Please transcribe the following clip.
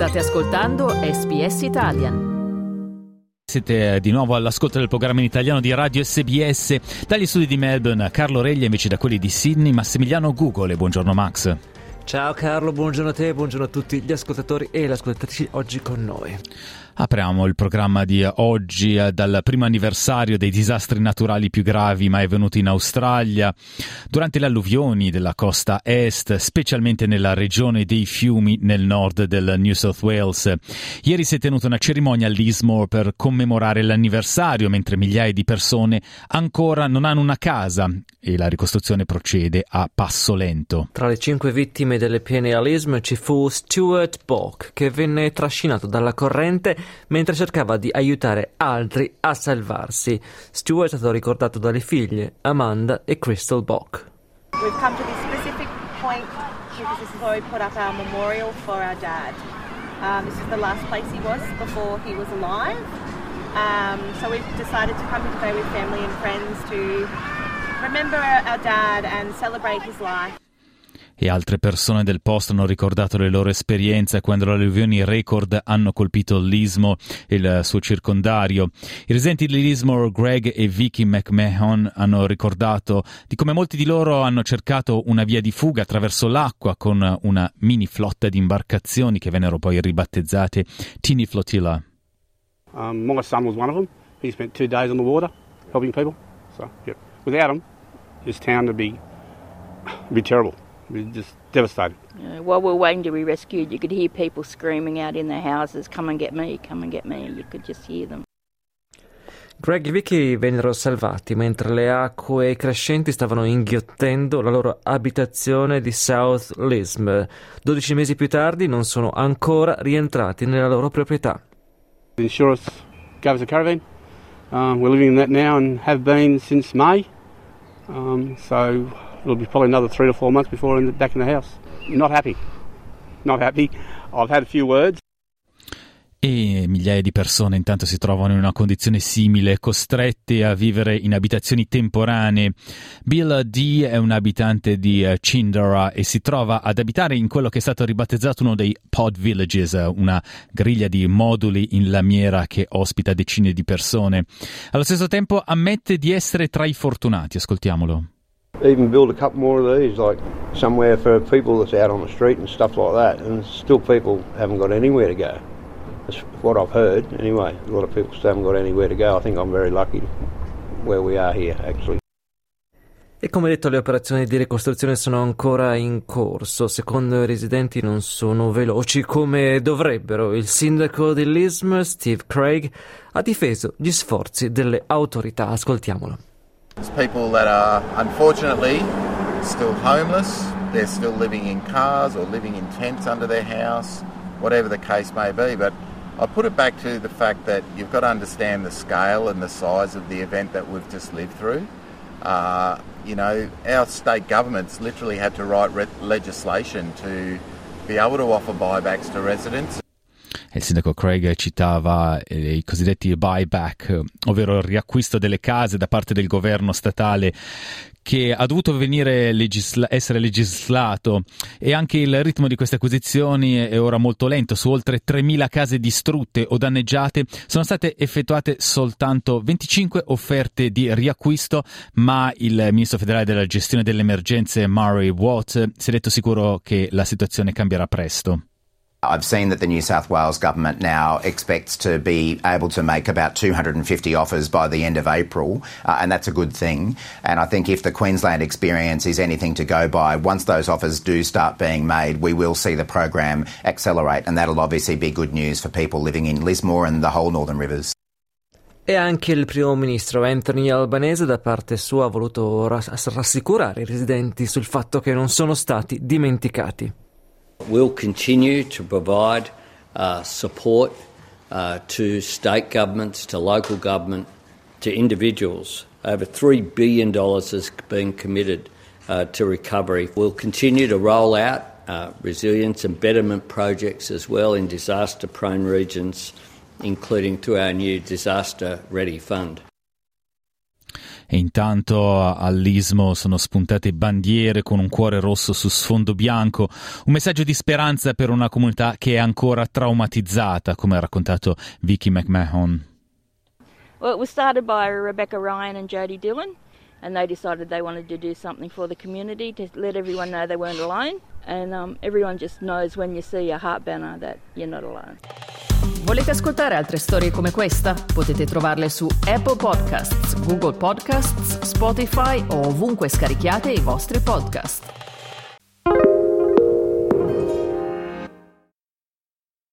State ascoltando SBS Italian. Siete di nuovo all'ascolto del programma in italiano di Radio SBS. Dagli studi di Melbourne, Carlo Reglia, invece da quelli di Sydney, Massimiliano Gugole. Buongiorno Max. Ciao Carlo, buongiorno a te, buongiorno a tutti gli ascoltatori e le ascoltatrici oggi con noi. Apriamo il programma di oggi dal primo anniversario dei disastri naturali più gravi mai avvenuti in Australia. Durante le alluvioni della costa est, specialmente nella regione dei fiumi nel nord del New South Wales. Ieri si è tenuta una cerimonia a Lismore per commemorare l'anniversario, mentre migliaia di persone ancora non hanno una casa e la ricostruzione procede a passo lento. Tra le 5 vittime delle piene a Lismore ci fu Stuart Bock, che venne trascinato dalla corrente mentre cercava di aiutare altri a salvarsi. Stuart è stato ricordato dalle figlie Amanda e Crystal Bock. We've come to this specific point because this is where we put up our memorial for our dad. This is the last place he was before he was alive. So we've decided to come here today with family and friends to remember our dad and celebrate his life. E altre persone del posto hanno ricordato le loro esperienze quando le alluvioni record hanno colpito Lismore e il suo circondario. I residenti di Lismore, Greg e Vicky McMahon, hanno ricordato di come molti di loro hanno cercato una via di fuga attraverso l'acqua con una mini flotta di imbarcazioni che vennero poi ribattezzate Teeny Flotilla. My son was one of them. He spent 2 days on the water helping people. So, yeah. Without him, this town would be terrible. Just devastated. While we were waiting to be rescued, you could hear people screaming out in their houses, come and get me, come and get me. You could just hear them. Greg e Vicky vennero salvati mentre le acque crescenti stavano inghiottendo la loro abitazione di South Lismore. 12 mesi più tardi non sono ancora rientrati nella loro proprietà. The insurance gave us a caravan. We're living in that now and have been since May. So it'll be probably another 3 to 4 months before we're back in the house. Not happy. I've had a few words. E migliaia di persone intanto si trovano in una condizione simile, costrette a vivere in abitazioni temporanee. Bill D è un abitante di Cindara e si trova ad abitare in quello che è stato ribattezzato uno dei pod villages, una griglia di moduli in lamiera che ospita decine di persone. Allo stesso tempo ammette di essere tra i fortunati. Ascoltiamolo. Even build a couple more of these, like somewhere for people that's out on the street and stuff like that, and still people haven't got anywhere to go. That's what I've heard anyway. A lot of people still haven't got anywhere to go. I think I'm very lucky where we are here actually. E come detto, le operazioni di ricostruzione sono ancora in corso. Secondo i residenti non sono veloci come dovrebbero. Il sindaco di Lismore, Steve Craig, ha difeso gli sforzi delle autorità. Ascoltiamolo. There's people that are unfortunately still homeless. They're still living in cars or living in tents under their house, whatever the case may be. But I put it back to the fact that you've got to understand the scale and the size of the event that we've just lived through. Our state governments literally had to write legislation to be able to offer buybacks to residents. Il sindaco Craig citava i cosiddetti buyback, ovvero il riacquisto delle case da parte del governo statale, che ha dovuto essere legislato, e anche il ritmo di queste acquisizioni è ora molto lento. Su oltre 3.000 case distrutte o danneggiate sono state effettuate soltanto 25 offerte di riacquisto, ma il ministro federale della gestione delle emergenze Murray Watt si è detto sicuro che la situazione cambierà presto. I've seen that the New South Wales government now expects to be able to make about 250 offers by the end of April, and that's a good thing. And I think if the Queensland experience is anything to go by, once those offers do start being made, we will see the program accelerate, and that'll obviously be good news for people living in Lismore and the whole Northern Rivers. E anche il primo ministro Anthony Albanese da parte sua ha voluto rassicurare i residenti sul fatto che non sono stati dimenticati. We'll continue to provide support to state governments, to local government, to individuals. Over $3 billion has been committed to recovery. We'll continue to roll out resilience and betterment projects as well in disaster-prone regions, including through our new Disaster Ready Fund. E intanto all'Istmo sono spuntate bandiere con un cuore rosso su sfondo bianco, un messaggio di speranza per una comunità che è ancora traumatizzata, come ha raccontato Vicky McMahon. Well, it was started by Rebecca Ryan and Jodie Dillon, and they decided they wanted to do something for the community to let everyone know they weren't alone. And everyone just knows when you see a heart banner that you're not alone. Volete ascoltare altre storie come questa? Potete trovarle su Apple Podcasts, Google Podcasts, Spotify o ovunque scarichiate i vostri podcast.